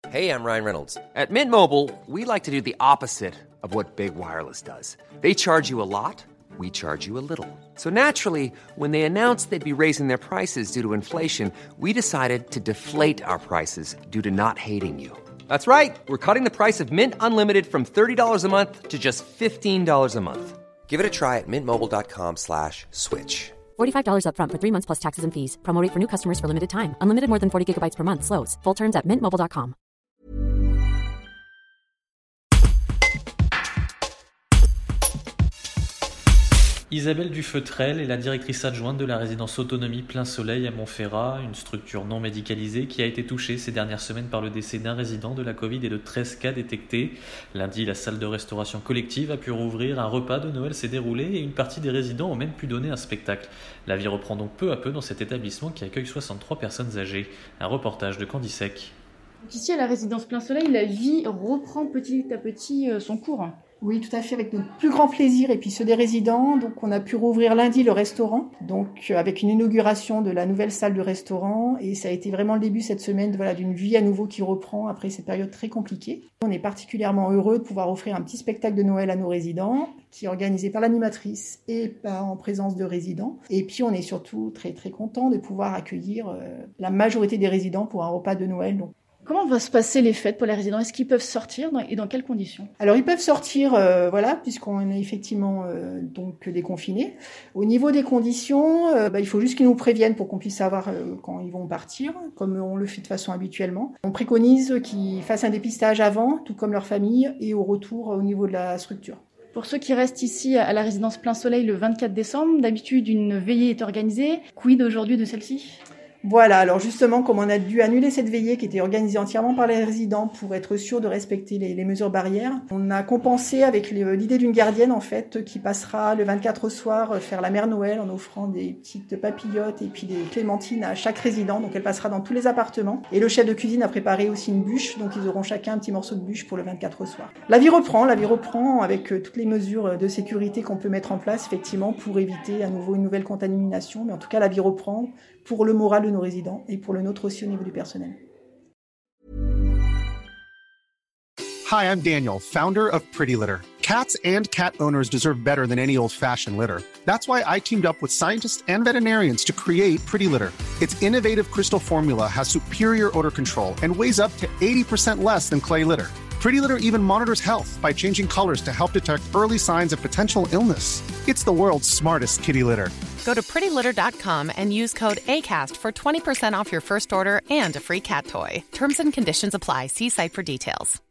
Hey, I'm Ryan Reynolds. At Mint Mobile, we like to do the opposite of what Big Wireless does. They charge you a lot, we charge you a little. So naturally, when they announced they'd be raising their prices due to inflation, we decided to deflate our prices due to not hating you. That's right. We're cutting the price of Mint Unlimited from $30 a month to just $15 a month. Give it a try at mintmobile.com/switch. $45 up front for 3 months plus taxes and fees. Promo rate for new customers for limited time. Unlimited more than 40 gigabytes per month. Slows full terms at mintmobile.com. Isabelle Dufeutrel est la directrice adjointe de la résidence Autonomie Plein Soleil à Montferrat, une structure non médicalisée qui a été touchée ces dernières semaines par le décès d'un résident de la Covid et de 13 cas détectés. Lundi, la salle de restauration collective a pu rouvrir, un repas de Noël s'est déroulé et une partie des résidents ont même pu donner un spectacle. La vie reprend donc peu à peu dans cet établissement qui accueille 63 personnes âgées. Un reportage de Candy Sec. Ici, à la résidence Plein Soleil, la vie reprend petit à petit son cours. Oui, tout à fait, avec notre plus grand plaisir et puis ceux des résidents. Donc, on a pu rouvrir lundi le restaurant, donc avec une inauguration de la nouvelle salle du restaurant. Et ça a été vraiment le début cette semaine, d'une vie à nouveau qui reprend après cette période très compliquée. On est particulièrement heureux de pouvoir offrir un petit spectacle de Noël à nos résidents, qui est organisé par l'animatrice et en présence de résidents. Et puis, on est surtout très très content de pouvoir accueillir la majorité des résidents pour un repas de Noël. Donc, comment vont se passer les fêtes pour les résidents ? Est-ce qu'ils peuvent sortir et dans quelles conditions ? Alors ils peuvent sortir, puisqu'on est effectivement donc déconfinés. Au niveau des conditions, il faut juste qu'ils nous préviennent pour qu'on puisse savoir quand ils vont partir, comme on le fait de façon habituellement. On préconise qu'ils fassent un dépistage avant, tout comme leur famille, et au retour au niveau de la structure. Pour ceux qui restent ici à la résidence Plein Soleil le 24 décembre, d'habitude une veillée est organisée. Quid aujourd'hui de celle-ci ? Voilà, alors justement, comme on a dû annuler cette veillée qui était organisée entièrement par les résidents pour être sûr de respecter les mesures barrières, on a compensé avec l'idée d'une gardienne en fait qui passera le 24 au soir faire la mère Noël en offrant des petites papillotes et puis des clémentines à chaque résident. Donc elle passera dans tous les appartements. Et le chef de cuisine a préparé aussi une bûche, donc ils auront chacun un petit morceau de bûche pour le 24 au soir. La vie reprend avec toutes les mesures de sécurité qu'on peut mettre en place effectivement pour éviter à nouveau une nouvelle contamination. Mais en tout cas, la vie reprend pour le moral de nos résidents et pour le nôtre aussi au niveau du personnel. Hi, I'm Daniel, founder of Pretty Litter. Cats and cat owners deserve better than any old-fashioned litter. That's why I teamed up with scientists and veterinarians to create Pretty Litter. Its innovative crystal formula has superior odor control and weighs up to 80% less than clay litter. Pretty Litter even monitors health by changing colors to help detect early signs of potential illness. It's the world's smartest kitty litter. Go to prettylitter.com and use code ACAST for 20% off your first order and a free cat toy. Terms and conditions apply. See site for details.